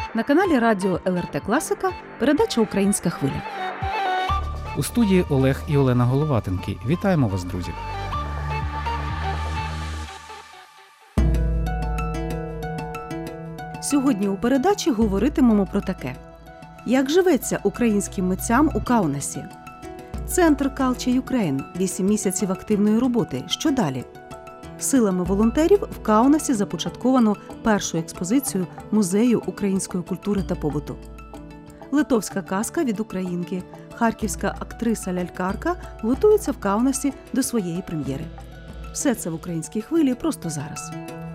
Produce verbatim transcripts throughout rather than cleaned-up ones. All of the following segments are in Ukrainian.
На каналі радіо ел ер те Класика передача «Українська хвиля». У студії Олег і Олена Головатенки. Вітаємо вас, друзі! Сьогодні у передачі говоритимемо про таке. Як живеться українським митцям у Каунасі? Центр Culture Ukraine. Вісім місяців активної роботи. Що далі? Силами волонтерів в Каунасі започатковано першу експозицію Музею української культури та побуту. Литовська казка від українки. Харківська актриса-лялькарка готується в Каунасі до своєї прем'єри. Все це в «Українській хвилі» просто зараз.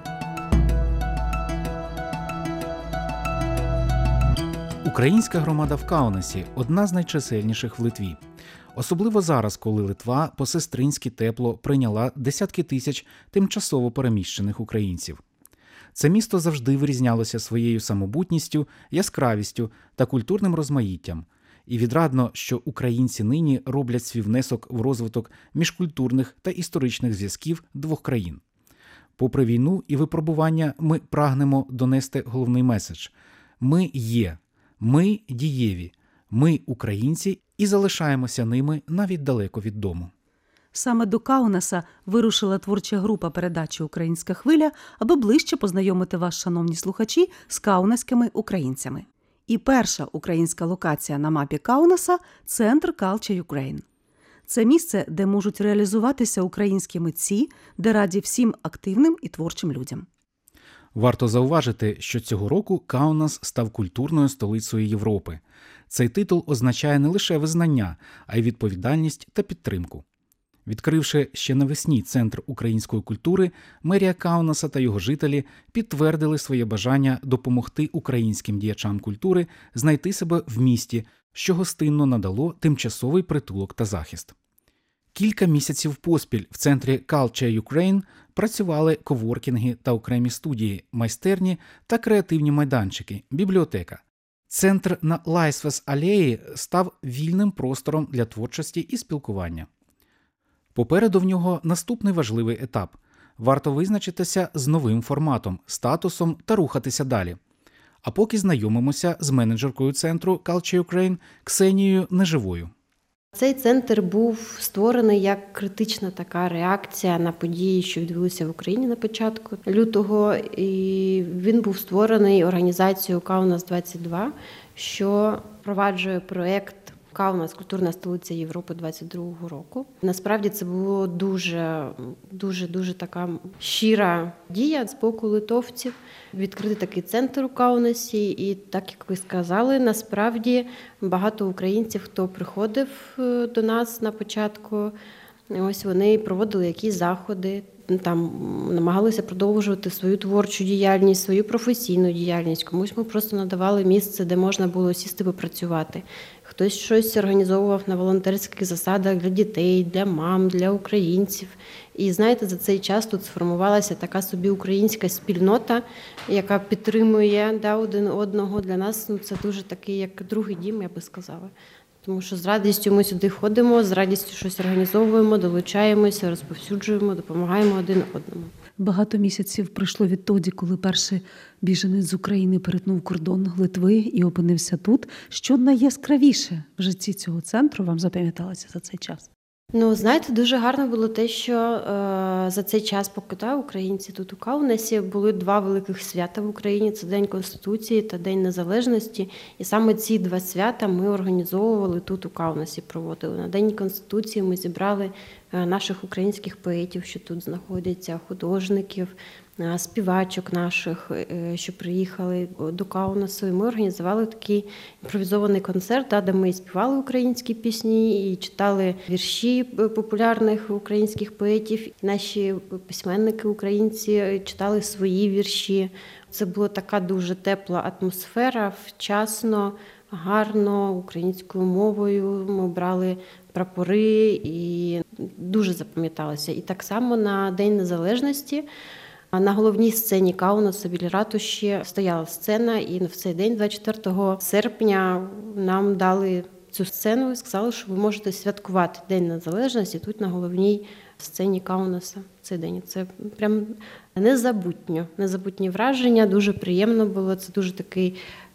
Українська громада в Каунасі – одна з найчисельніших в Литві. Особливо зараз, коли Литва по-сестринськи тепло прийняла десятки тисяч тимчасово переміщених українців. Це місто завжди вирізнялося своєю самобутністю, яскравістю та культурним розмаїттям. І відрадно, що українці нині роблять свій внесок в розвиток міжкультурних та історичних зв'язків двох країн. Попри війну і випробування, ми прагнемо донести головний меседж – ми є, ми дієві, ми українці і залишаємося ними навіть далеко від дому. Саме до Каунаса вирушила творча група передачі «Українська хвиля», аби ближче познайомити вас, шановні слухачі, з каунаськими українцями. І перша українська локація на мапі Каунаса – Центр Culture Ukraine. Це місце, де можуть реалізуватися українські митці, де раді всім активним і творчим людям. Варто зауважити, що цього року Каунас став культурною столицею Європи. Цей титул означає не лише визнання, а й відповідальність та підтримку. Відкривши ще навесні Центр української культури, мерія Каунаса та його жителі підтвердили своє бажання допомогти українським діячам культури знайти себе в місті, що гостинно надало тимчасовий притулок та захист. Кілька місяців поспіль в центрі Culture Ukraine працювали коворкінги та окремі студії, майстерні та креативні майданчики, бібліотека. Центр на Лайсвес-алеї став вільним простором для творчості і спілкування. Попереду в нього наступний важливий етап. Варто визначитися з новим форматом, статусом та рухатися далі. А поки знайомимося з менеджеркою центру Culture Ukraine Ксенією Неживою. Цей центр був створений як критична така реакція на події, що відбулися в Україні на початку лютого. І він був створений організацією Каунас двадцять два, що впроваджує проєкт Каунас – культурна столиця Європи двадцять другого року. Насправді це було дуже, дуже, дуже така щира дія з боку литовців. Відкрити такий центр у Каунасі. І так, як ви сказали, насправді багато українців, хто приходив до нас на початку, ось вони проводили якісь заходи, там намагалися продовжувати свою творчу діяльність, свою професійну діяльність. Комусь ми просто надавали місце, де можна було сісти попрацювати. Хтось щось організовував на волонтерських засадах для дітей, для мам, для українців. І знаєте, за цей час тут сформувалася така собі українська спільнота, яка підтримує да, один одного. Для нас ну, це дуже такий, як другий дім, я би сказала. Тому що з радістю ми сюди ходимо, з радістю щось організовуємо, долучаємося, розповсюджуємо, допомагаємо один одному. Багато місяців пройшло відтоді, коли перший біженець з України перетнув кордон Литви і опинився тут. Що найяскравіше в житті цього центру вам запам'яталося за цей час? Ну, знаєте, дуже гарно було те, що е, за цей час, поки та, українці тут у Каунасі, були два великих свята в Україні. Це День Конституції та День Незалежності. І саме ці два свята ми організовували тут у Каунасі, проводили. На День Конституції ми зібрали наших українських поетів, що тут знаходяться, художників, співачок наших, що приїхали до Каунасу. І ми організували такий імпровізований концерт, де ми співали українські пісні і читали вірші популярних українських поетів. Наші письменники українці читали свої вірші. Це була така дуже тепла атмосфера, вчасно, гарно, українською мовою. Ми брали прапори і дуже запам'яталося. І так само на День Незалежності на головній сцені Каунаса біля ратуші стояла сцена, і в цей день, двадцять четвертого серпня, нам дали цю сцену і сказали, що ви можете святкувати День Незалежності тут на головній сцені Каунаса в цей день. Це прям незабутньо, незабутні враження, дуже приємно було. Це дуже такий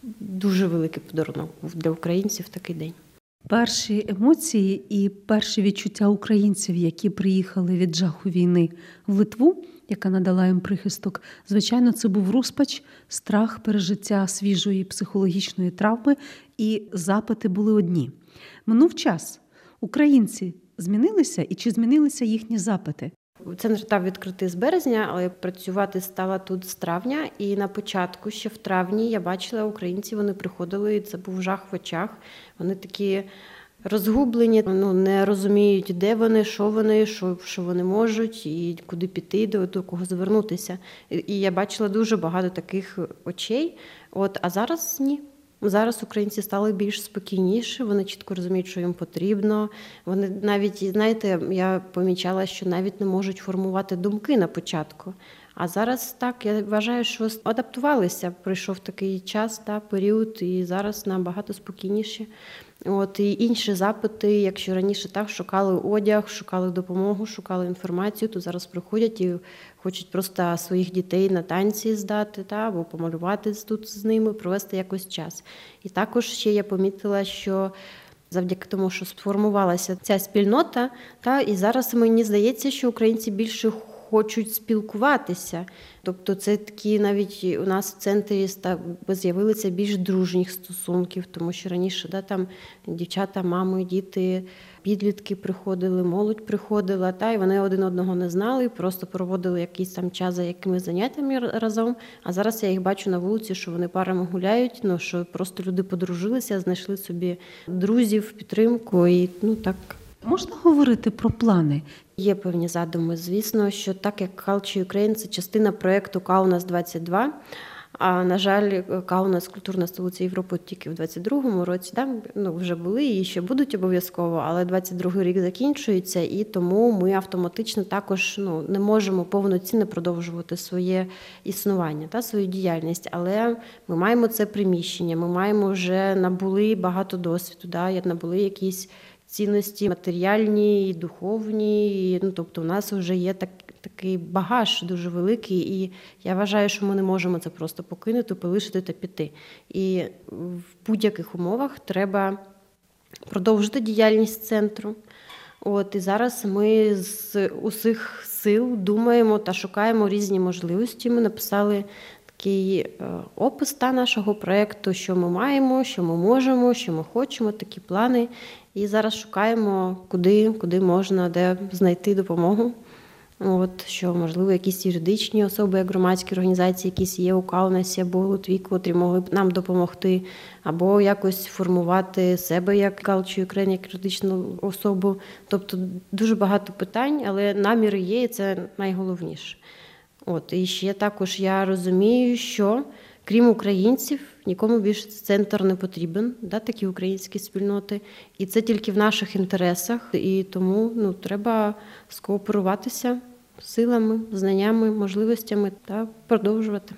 дуже великий подарунок був для українців в такий день. Перші емоції і перші відчуття українців, які приїхали від жаху війни в Литву, яка надала їм прихисток, звичайно, це був розпач, страх, пережиття свіжої психологічної травми, і запити були одні. Минув час. Українці змінилися, і чи змінилися їхні запити? Центр став відкритий з березня, але працювати стала тут з травня. І на початку, ще в травні, я бачила українців, вони приходили, і це був жах в очах. Вони такі розгублені, ну, не розуміють, де вони, що вони, що, що вони можуть, і куди піти, до, до кого звернутися. І, і я бачила дуже багато таких очей. От, а зараз ні. Зараз українці стали більш спокійніші, вони чітко розуміють, що їм потрібно. Вони навіть, знаєте, я помічала, що навіть не можуть формувати думки на початку. А зараз так, я вважаю, що адаптувалися. Прийшов такий час, та, період, і зараз набагато спокійніші. От, і інші запити, якщо раніше так шукали одяг, шукали допомогу, шукали інформацію, то зараз приходять і хочуть просто своїх дітей на танці здати, та, або помалювати тут з ними, провести якось час. І також ще я помітила, що завдяки тому, що сформувалася ця спільнота, та, і зараз мені здається, що українці більше хочуть спілкуватися. Тобто це такі навіть у нас в центрі з'явилися більш дружніх стосунків, тому що раніше да, там дівчата, мами, діти, підлітки приходили, молодь приходила, та, і вони один одного не знали, просто проводили якийсь там час за якимись заняттями разом. А зараз я їх бачу на вулиці, що вони парами гуляють, ну, що просто люди подружилися, знайшли собі друзів, підтримку і ну так. Можна говорити про плани? Є певні задуми, звісно, що так як Culture Ukraine – це частина проєкту Каунас двадцять два, а, на жаль, Каунас – культурна столиця Європи тільки в двадцять другому році, да, ну, вже були і ще будуть обов'язково, але двадцять другий рік закінчується, і тому ми автоматично також ну, не можемо повноцінно продовжувати своє існування, та, свою діяльність, але ми маємо це приміщення, ми маємо вже набули багато досвіду, да, набули якісь цінності матеріальні, і духовні, і, ну, тобто у нас вже є так, такий багаж дуже великий, і я вважаю, що ми не можемо це просто покинути, полишити та піти. І в будь-яких умовах треба продовжити діяльність центру. От, і зараз ми з усіх сил думаємо та шукаємо різні можливості. Ми написали такий опис та нашого проєкту, що ми маємо, що ми можемо, що ми хочемо, такі плани. І зараз шукаємо, куди, куди можна, де знайти допомогу. От, що, можливо, якісь юридичні особи, як громадські організації, якісь є у Каунасі або у Литві, котрі могли б нам допомогти, або якось формувати себе як Culture Ukraine, як юридичну особу. Тобто дуже багато питань, але наміри є, і це найголовніше. От, і ще також я розумію, що крім українців, нікому більше центр не потрібен, да, такі українські спільноти. І це тільки в наших інтересах. І тому ну, треба скооперуватися силами, знаннями, можливостями та продовжувати.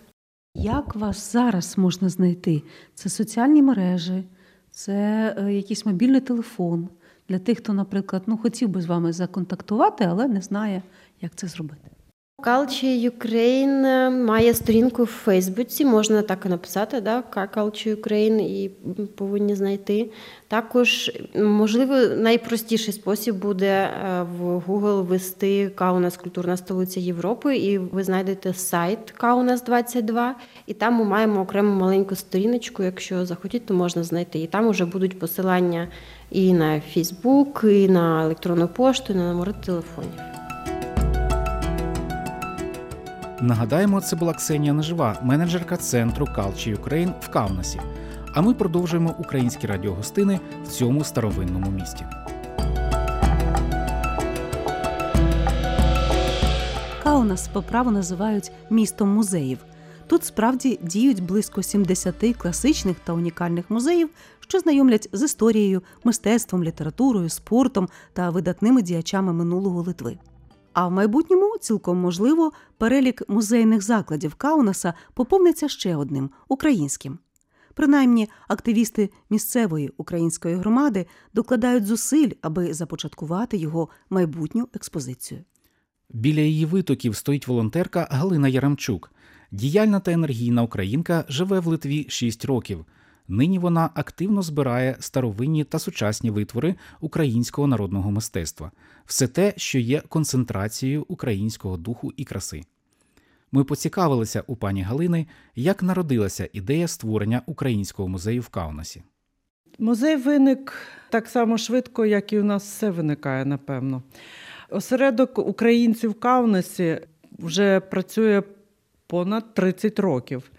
Як вас зараз можна знайти? Це соціальні мережі, це якийсь мобільний телефон для тих, хто, наприклад, ну, хотів би з вами законтактувати, але не знає, як це зробити. Culture Ukraine має сторінку в Фейсбуці, можна так і написати, да, Culture Ukraine, і повинні знайти. Також, можливо, найпростіший спосіб буде в Google ввести Каунас – культурна столиця Європи, і ви знайдете сайт Каунас двадцять два, і там ми маємо окрему маленьку сторіночку, якщо захотіть, то можна знайти. І там вже будуть посилання і на Фейсбук, і на електронну пошту, і на номери телефонів. Нагадаємо, це була Ксенія Нежива, менеджерка центру Culture Ukraine в Каунасі. А ми продовжуємо українські радіогостини в цьому старовинному місті. Каунас по праву називають містом музеїв. Тут справді діють близько сімдесят класичних та унікальних музеїв, що знайомлять з історією, мистецтвом, літературою, спортом та видатними діячами минулого Литви. А в майбутньому, цілком можливо, перелік музейних закладів Каунаса поповниться ще одним – українським. Принаймні, активісти місцевої української громади докладають зусиль, аби започаткувати його майбутню експозицію. Біля її витоків стоїть волонтерка Галина Яремчук. Діяльна та енергійна українка живе в Литві шість років. Нині вона активно збирає старовинні та сучасні витвори українського народного мистецтва. Все те, що є концентрацією українського духу і краси. Ми поцікавилися у пані Галини, як народилася ідея створення українського музею в Каунасі. Музей виник так само швидко, як і у нас все виникає, напевно. Осередок українців в Каунасі вже працює понад тридцять років.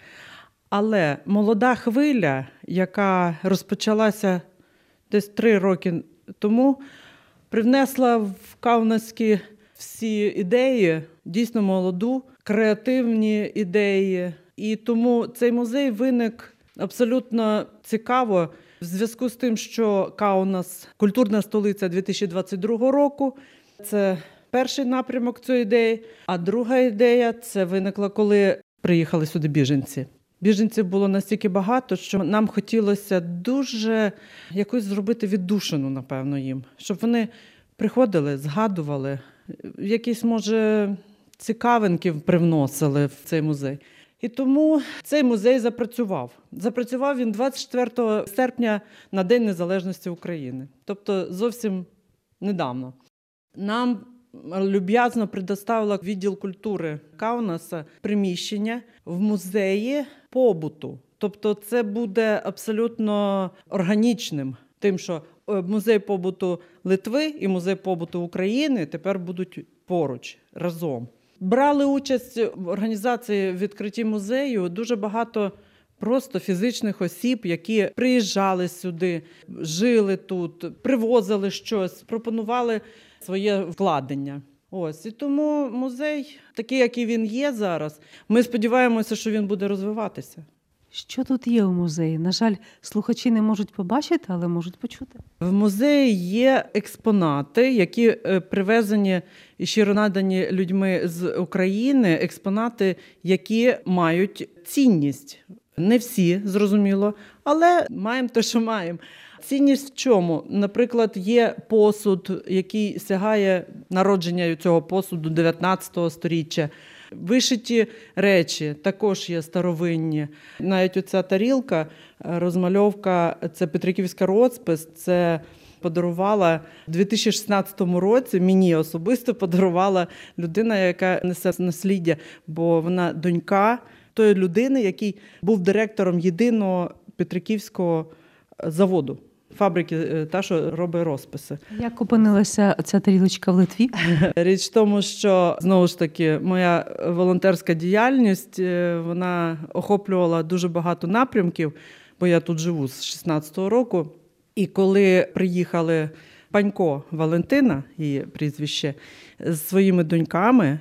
Але молода хвиля, яка розпочалася десь три роки тому, привнесла в Каунаські всі ідеї, дійсно молоду, креативні ідеї. І тому цей музей виник абсолютно цікаво в зв'язку з тим, що Каунас – культурна столиця дві тисячі двадцять другого року. Це перший напрямок цієї ідеї. А друга ідея – це виникла, коли приїхали сюди біженці. Біженців було настільки багато, що нам хотілося дуже якось зробити віддушину, напевно, їм. Щоб вони приходили, згадували, якісь, може, цікавинки привносили в цей музей. І тому цей музей запрацював. Запрацював він двадцять четвертого серпня на День Незалежності України. Тобто зовсім недавно. Нам люб'язно предоставила відділ культури Каунаса приміщення в музеї побуту. Тобто це буде абсолютно органічним. Тим, що музей побуту Литви і музей побуту України тепер будуть поруч, разом. Брали участь в організації відкритті музею дуже багато просто фізичних осіб, які приїжджали сюди, жили тут, привозили щось, пропонували своє вкладення. Ось. І тому музей, такий, який він є зараз, ми сподіваємося, що він буде розвиватися. Що тут є у музеї? На жаль, слухачі не можуть побачити, але можуть почути. В музеї є експонати, які привезені і щиро надані людьми з України, експонати, які мають цінність. Не всі, зрозуміло, але маємо те, що маємо. Цінність в чому? Наприклад, є посуд, який сягає народження цього посуду дев'ятнадцятого сторіччя. Вишиті речі також є старовинні. Навіть оця тарілка, розмальовка, це Петриківська розпис, це подарувала в дві тисячі шістнадцятому році, мені особисто подарувала людина, яка несе насліддя, бо вона донька тої людини, який був директором єдиного Петриківського заводу. Фабрики, та, що робить розписи. Як опинилася ця тарілочка в Литві? Річ в тому, що, знову ж таки, моя волонтерська діяльність, вона охоплювала дуже багато напрямків, бо я тут живу з шістнадцятого року. І коли приїхали Панько Валентина, її прізвище, з своїми доньками,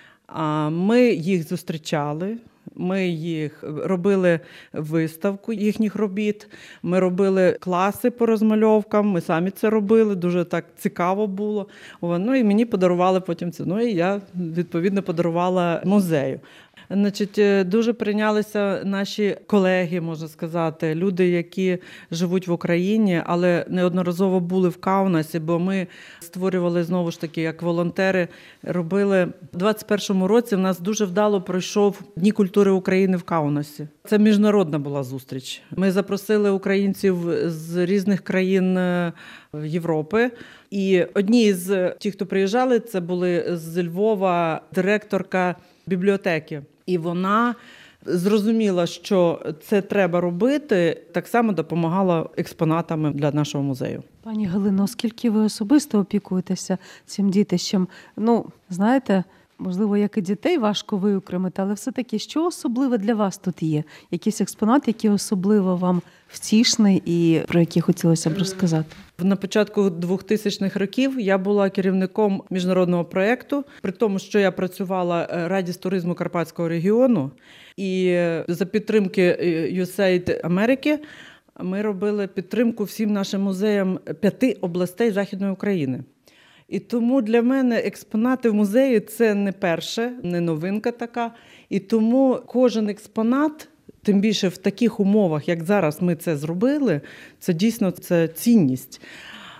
ми їх зустрічали. Ми їх робили виставку їхніх робіт, ми робили класи по розмальовкам, ми самі це робили, дуже так цікаво було. Ну і мені подарували потім це, ну і я, відповідно, подарувала музею. Значить, дуже прийнялися наші колеги, можна сказати, люди, які живуть в Україні, але неодноразово були в Каунасі, бо ми створювали, знову ж таки, як волонтери, робили. У двадцять першому році в нас дуже вдало пройшов Дні культури України в Каунасі. Це міжнародна була зустріч. Ми запросили українців з різних країн Європи. І одні з тих, хто приїжджали, це були з Львова директорка бібліотеки. І вона зрозуміла, що це треба робити, так само допомагала експонатами для нашого музею. Пані Галино, оскільки ви особисто опікуєтеся цим дітищем, ну, знаєте, можливо, як і дітей важко виокремити, але все-таки, що особливе для вас тут є? Якийсь експонат, який особливо вам втішний і про який хотілося б розказати? На початку двохтисячних років я була керівником міжнародного проєкту, при тому, що я працювала Раді з туризму Карпатського регіону, і за підтримки ю ес ей ай ді Америки ми робили підтримку всім нашим музеям п'яти областей Західної України. І тому для мене експонати в музеї – це не перше, не новинка така. І тому кожен експонат, тим більше в таких умовах, як зараз ми це зробили, це дійсно це цінність.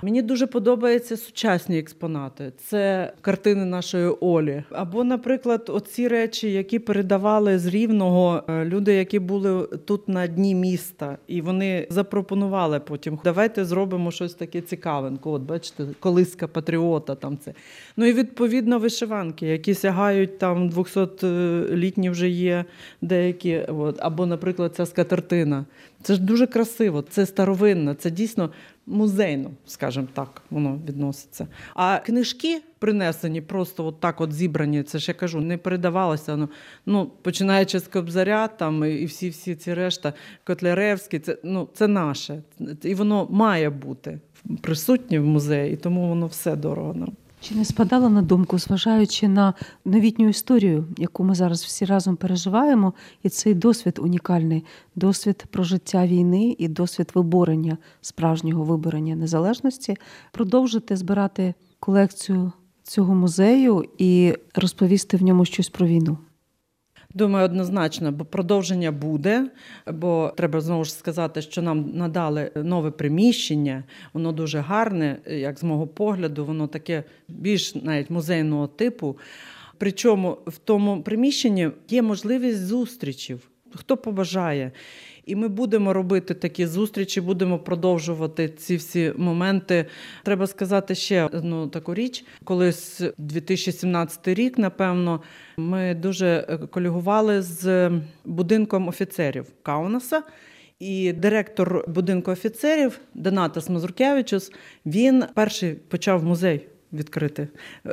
Мені дуже подобаються сучасні експонати. Це картини нашої Олі. Або, наприклад, оці речі, які передавали з Рівного люди, які були тут на дні міста. І вони запропонували потім, давайте зробимо щось таке цікавеньке. От, бачите, колиска патріота там це. Ну і, відповідно, вишиванки, які сягають там двохсотлітні вже є деякі. От. Або, наприклад, ця скатертина. Це ж дуже красиво, це старовинно, це дійсно музейно, скажімо так, воно відноситься. А книжки принесені, просто от так от зібрані, це ж я кажу, не передавалося. Ну, ну починаючи з Кобзаря там, і всі-всі ці решта, Котляревський, це, ну, це наше. І воно має бути присутнє в музеї, і тому воно все дорого нам. Чи не спадало на думку, зважаючи на новітню історію, яку ми зараз всі разом переживаємо, і цей досвід унікальний, досвід прожиття війни і досвід виборення, справжнього виборення незалежності, продовжити збирати колекцію цього музею і розповісти в ньому щось про війну? Думаю, однозначно, бо продовження буде, бо треба знову ж сказати, що нам надали нове приміщення, воно дуже гарне, як з мого погляду, воно таке більш навіть музейного типу. Причому в тому приміщенні є можливість зустрічів, хто побажає. І ми будемо робити такі зустрічі, будемо продовжувати ці всі моменти. Треба сказати ще одну таку річ. Колись дві тисячі сімнадцятий рік, напевно, ми дуже колегували з будинком офіцерів Каунаса. І директор будинку офіцерів Донатас Мазуркевичус, він перший почав музей відкрити.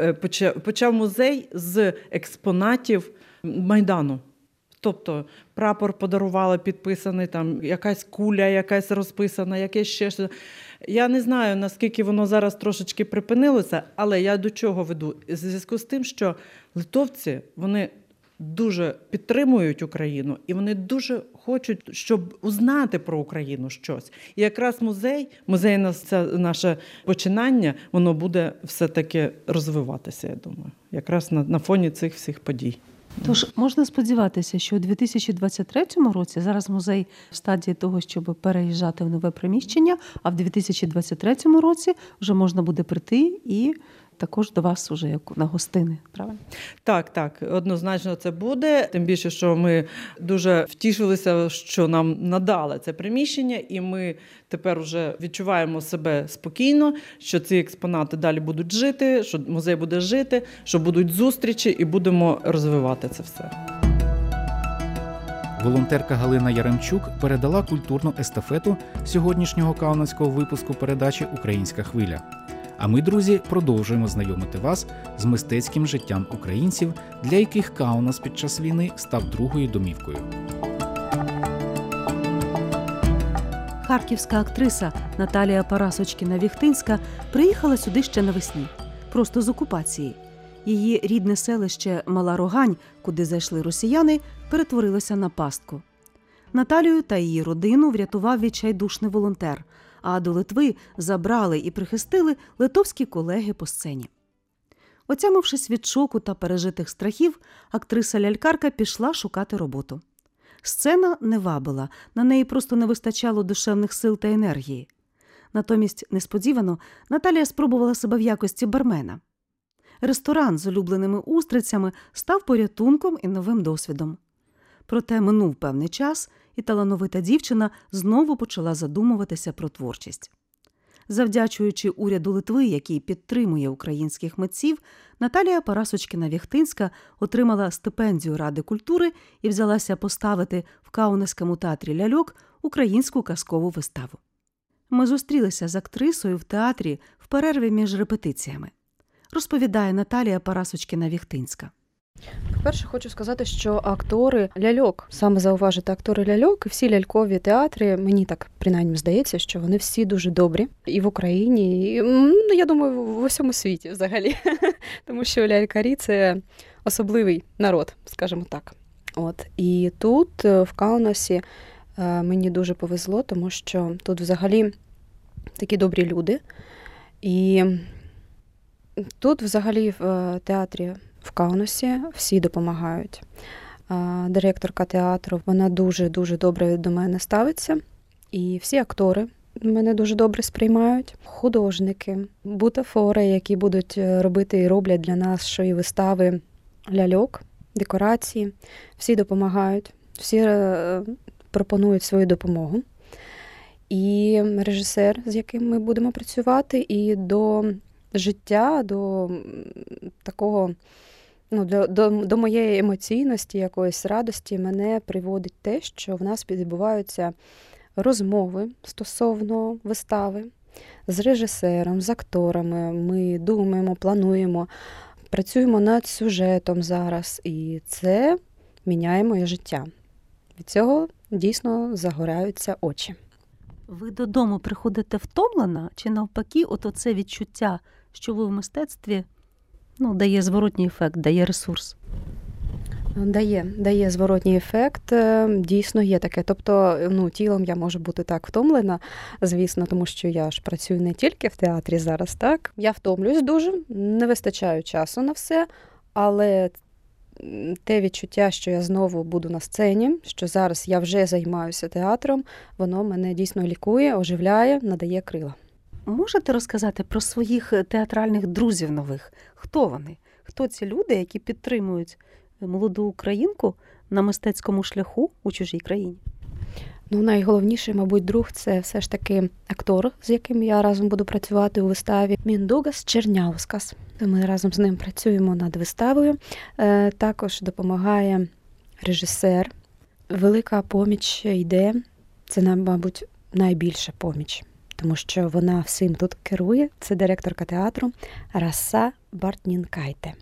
Почав музей з експонатів Майдану. Тобто прапор подарували підписаний, там якась куля, якась розписана, якесь ще щось. Я не знаю, наскільки воно зараз трошечки припинилося, але я до чого веду? У зв'язку з тим, що литовці, вони дуже підтримують Україну, і вони дуже хочуть, щоб узнати про Україну щось. І якраз музей, музейне це наше починання, воно буде все-таки розвиватися, я думаю, якраз на, на фоні цих всіх подій. Тож можна сподіватися, що у дві тисячі двадцять третьому році, зараз музей в стадії того, щоб переїжджати в нове приміщення, а в дві тисячі двадцять третьому році вже можна буде прийти і також до вас уже як на гостини, правильно? Так, так, однозначно це буде. Тим більше, що ми дуже втішилися, що нам надали це приміщення, і ми тепер вже відчуваємо себе спокійно, що ці експонати далі будуть жити, що музей буде жити, що будуть зустрічі і будемо розвивати це все. Волонтерка Галина Яремчук передала культурну естафету сьогоднішнього каунасського випуску передачі «Українська хвиля». А ми, друзі, продовжуємо знайомити вас з мистецьким життям українців, для яких Каунас під час війни став другою домівкою. Харківська актриса Наталія Парасочкіна-Віхтинська приїхала сюди ще навесні, просто з окупації. Її рідне селище Мала Рогань, куди зайшли росіяни, перетворилося на пастку. Наталію та її родину врятував відчайдушний волонтер, а до Литви забрали і прихистили литовські колеги по сцені. Отямившись від шоку та пережитих страхів, актриса-лялькарка пішла шукати роботу. Сцена не вабила, на неї просто не вистачало душевних сил та енергії. Натомість, несподівано, Наталія спробувала себе в якості бармена. Ресторан з улюбленими устрицями став порятунком і новим досвідом. Проте минув певний час, і талановита дівчина знову почала задумуватися про творчість. Завдячуючи уряду Литви, який підтримує українських митців, Наталія Парасочкіна-Віхтинська отримала стипендію Ради культури і взялася поставити в Каунаському театрі ляльок українську казкову виставу. Ми зустрілися з актрисою в театрі в перерві між репетиціями. Розповідає Наталія Парасочкіна-Віхтинська. По-перше, хочу сказати, що актори ляльок, саме зауважити актори ляльок, і всі лялькові театри, мені так принаймні здається, що вони всі дуже добрі і в Україні, і, ну, я думаю, в усьому світі взагалі. Тому що лялькарі – це особливий народ, скажімо так. От. І тут, в Каунасі, мені дуже повезло, тому що тут взагалі такі добрі люди. І тут взагалі в театрі в Каунасі всі допомагають. Директорка театру, вона дуже-дуже добре до мене ставиться. І всі актори мене дуже добре сприймають. Художники, бутафори, які будуть робити і роблять для нас шої вистави ляльок, декорації. Всі допомагають, всі пропонують свою допомогу. І режисер, з яким ми будемо працювати, і до життя, до такого, ну, до, до, до моєї емоційності, якоїсь радості мене приводить те, що в нас відбуваються розмови стосовно вистави з режисером, з акторами. Ми думаємо, плануємо, працюємо над сюжетом зараз, і це міняє моє життя. Від цього дійсно загоряються очі. Ви додому приходите втомлена, чи навпаки, от оце відчуття, що ви в мистецтві, ну, дає зворотній ефект, дає ресурс? Дає, дає зворотній ефект, дійсно є таке. Тобто, ну, тілом я можу бути так втомлена, звісно, тому що я ж працюю не тільки в театрі зараз, так? Я втомлююсь дуже, не вистачає часу на все, але те відчуття, що я знову буду на сцені, що зараз я вже займаюся театром, воно мене дійсно лікує, оживляє, надає крила. Можете розказати про своїх театральних друзів нових? Хто вони? Хто ці люди, які підтримують молоду українку на мистецькому шляху у чужій країні? Ну, найголовніший, мабуть, друг – це все ж таки актор, з яким я разом буду працювати у виставі. Міндугас Черняускас. Ми разом з ним працюємо над виставою. Е, також допомагає режисер. Велика поміч йде. Це, мабуть, найбільша поміч, тому що вона всім тут керує. Це директорка театру Раса Бартнінкайте.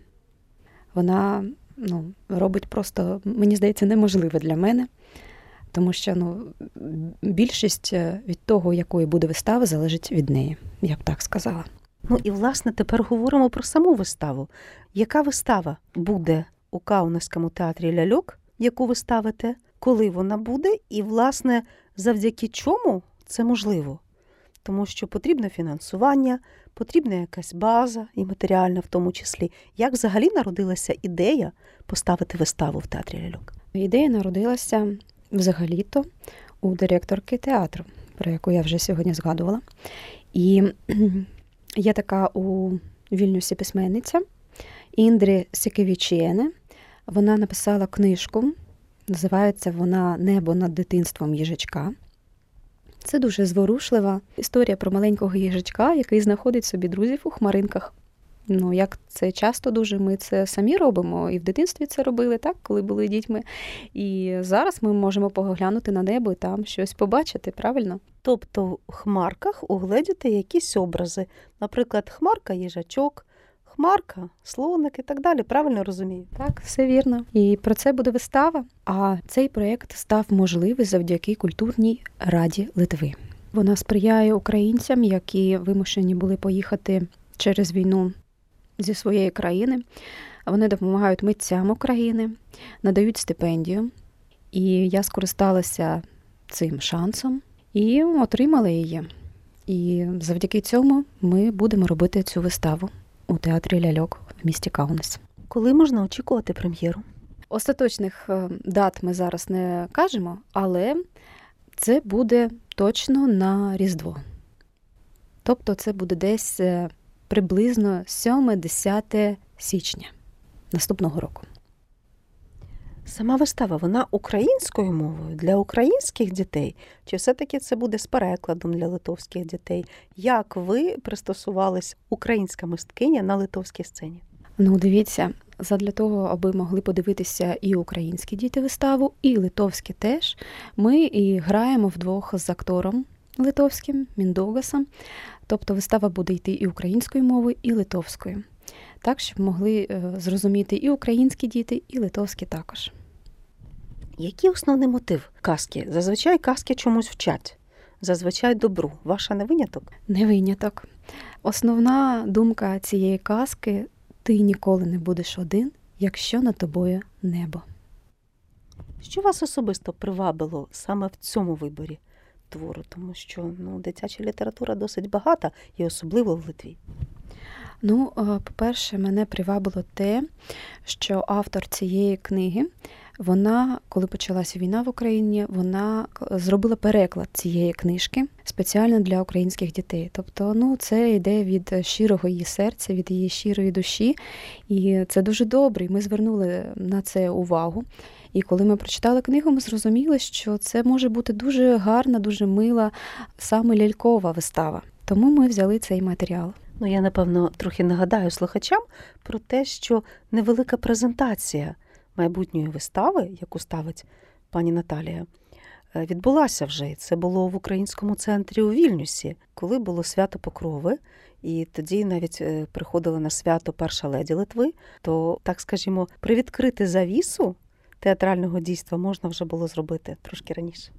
Вона, ну, робить просто, мені здається, неможливе для мене. Тому що, ну, більшість від того, якої буде вистава, залежить від неї, я б так сказала. Ну і, власне, тепер говоримо про саму виставу. Яка вистава буде у Каунаському театрі ляльок, яку ви ставите, коли вона буде, і, власне, завдяки чому це можливо? Тому що потрібне фінансування, потрібна якась база, і матеріальна в тому числі. Як взагалі народилася ідея поставити виставу в театрі ляльок? Ідея народилася взагалі-то у директорки театру, про яку я вже сьогодні згадувала. І є така у Вільнюсі письменниця Індрі Сікевічєне. Вона написала книжку, називається вона «Небо над дитинством їжачка». Це дуже зворушлива історія про маленького їжачка, який знаходить собі друзів у хмаринках. Ну, як це часто дуже, ми це самі робимо, і в дитинстві це робили, так, коли були дітьми. І зараз ми можемо поглянути на небо і там щось побачити, правильно? Тобто в хмарках угледіти якісь образи. Наприклад, хмарка – їжачок, хмарка – слоник і так далі. Правильно розумію? Так, все вірно. І про це буде вистава. А цей проєкт став можливий завдяки Культурній раді Литви. Вона сприяє українцям, які вимушені були поїхати через війну зі своєї країни. Вони допомагають митцям України, надають стипендію. І я скористалася цим шансом і отримала її. І завдяки цьому ми будемо робити цю виставу у театрі ляльок в місті Каунас. Коли можна очікувати прем'єру? Остаточних дат ми зараз не кажемо, але це буде точно на Різдво. Тобто це буде десь приблизно сьоме-десяте січня наступного року. Сама вистава, вона українською мовою для українських дітей? Чи все-таки це буде з перекладом для литовських дітей? Як ви пристосувались, українська мисткиня, на литовській сцені? Ну, дивіться, задля того, аби могли подивитися і українські діти виставу, і литовські теж, ми і граємо вдвох з актором литовським, Міндугасом. Тобто вистава буде йти і українською мовою, і литовською. Так, щоб могли зрозуміти і українські діти, і литовські також. Який основний мотив казки? Зазвичай казки чомусь вчать. Зазвичай добру. Ваша не виняток? Не виняток. Основна думка цієї казки – ти ніколи не будеш один, якщо над тобою небо. Що вас особисто привабило саме в цьому виборі твору? Тому що, ну, дитяча література досить багата, і особливо в Литві. Ну, по-перше, мене привабило те, що автор цієї книги, вона, коли почалася війна в Україні, вона зробила переклад цієї книжки спеціально для українських дітей. Тобто, ну, це йде від щирого її серця, від її щирої душі. І це дуже добре. І ми звернули на це увагу. І коли ми прочитали книгу, ми зрозуміли, що це може бути дуже гарна, дуже мила, саме лялькова вистава. Тому ми взяли цей матеріал. Ну, я, напевно, трохи нагадаю слухачам про те, що невелика презентація майбутньої вистави, яку ставить пані Наталія, відбулася вже. Це було в Українському центрі у Вільнюсі, коли було свято Покрови, і тоді навіть приходила на свято перша леді Литви, то, так скажімо, привідкрити завісу театрального дійства можна вже було зробити трошки раніше.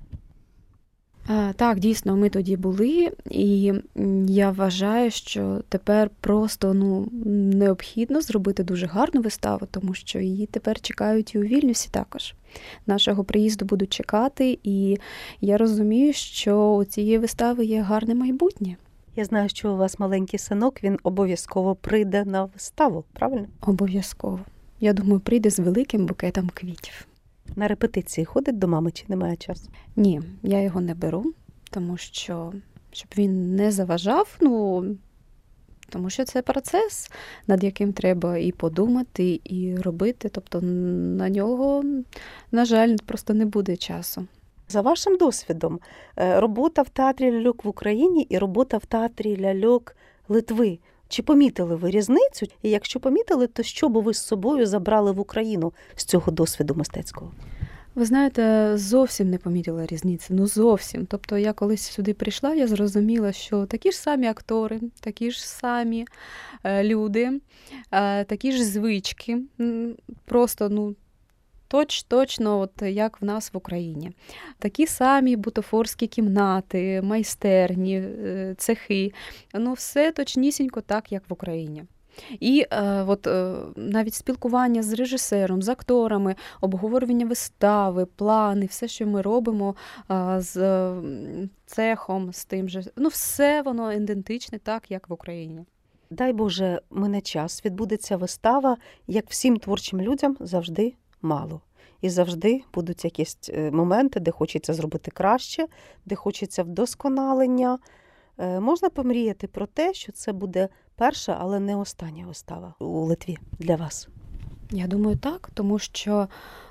Так, дійсно, ми тоді були, і я вважаю, що тепер просто ну, необхідно зробити дуже гарну виставу, тому що її тепер чекають і у Вільнюсі також. Нашого приїзду будуть чекати, і я розумію, що у цієї вистави є гарне майбутнє. Я знаю, що у вас маленький синок, він обов'язково прийде на виставу, правильно? Обов'язково. Я думаю, прийде з великим букетом квітів. На репетиції ходить до мами чи немає часу? Ні, я його не беру, тому що, щоб він не заважав, ну, тому що це процес, над яким треба і подумати, і робити. Тобто на нього, на жаль, просто не буде часу. За вашим досвідом, робота в театрі ляльок в Україні і робота в театрі ляльок Литви. Чи помітили ви різницю? І якщо помітили, то що б ви з собою забрали в Україну з цього досвіду мистецького? Ви знаєте, зовсім не помітила різниці, ну зовсім. Тобто я колись сюди прийшла, я зрозуміла, що такі ж самі актори, такі ж самі люди, такі ж звички, просто, ну, Точ, точно, от як в нас в Україні. Такі самі бутафорські кімнати, майстерні, цехи. Ну, все точнісінько так, як в Україні. І е, от, е, навіть спілкування з режисером, з акторами, обговорювання вистави, плани, все, що ми робимо е, з е, цехом, з тим же. Ну, все воно ідентичне так, як в Україні. Дай Боже, мине час, відбудеться вистава, як всім творчим людям завжди мало. І завжди будуть якісь моменти, де хочеться зробити краще, де хочеться вдосконалення. Можна помріяти про те, що це буде перша, але не остання вистава у Литві для вас? Я думаю, так, тому що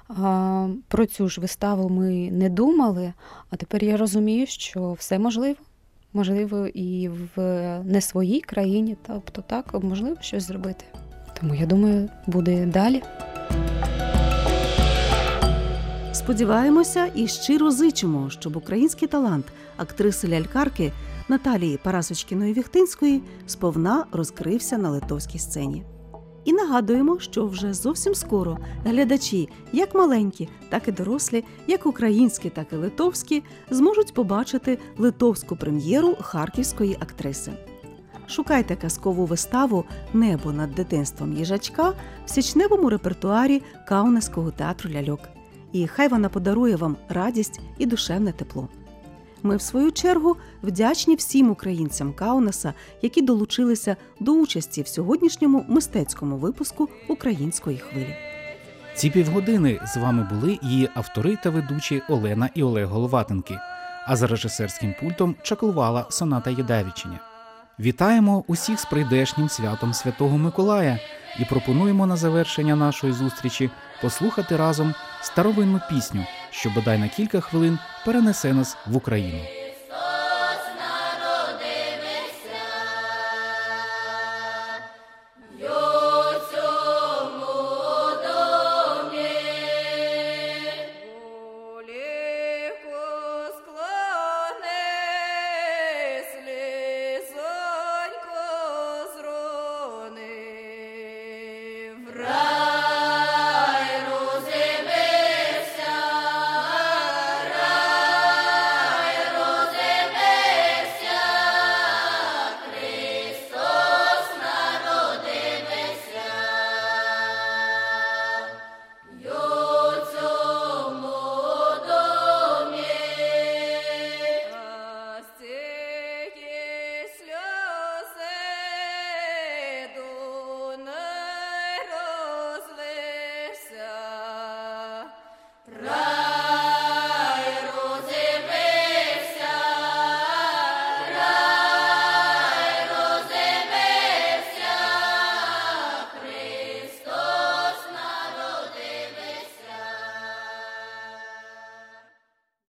а, про цю ж виставу ми не думали, а тепер я розумію, що все можливо. Можливо, і в не своїй країні, тобто так, можливо щось зробити. Тому, я думаю, буде далі. Сподіваємося і щиро зичимо, щоб український талант актриси-лялькарки Наталії Парасочкіної-Віхтинської сповна розкрився на литовській сцені. І нагадуємо, що вже зовсім скоро глядачі, як маленькі, так і дорослі, як українські, так і литовські, зможуть побачити литовську прем'єру харківської актриси. Шукайте казкову виставу «Небо над дитинством їжачка» в січневому репертуарі Каунаського театру ляльок. І хай вона подарує вам радість і душевне тепло. Ми, в свою чергу, вдячні всім українцям Каунаса, які долучилися до участі в сьогоднішньому мистецькому випуску «Української хвилі». Ці півгодини з вами були її автори та ведучі Олена і Олег Головатенки, а за режисерським пультом чаклувала Соната Єдавіченя. Вітаємо усіх з прийдешнім святом Святого Миколая і пропонуємо на завершення нашої зустрічі послухати разом старовинну пісню, що бодай на кілька хвилин перенесе нас в Україну.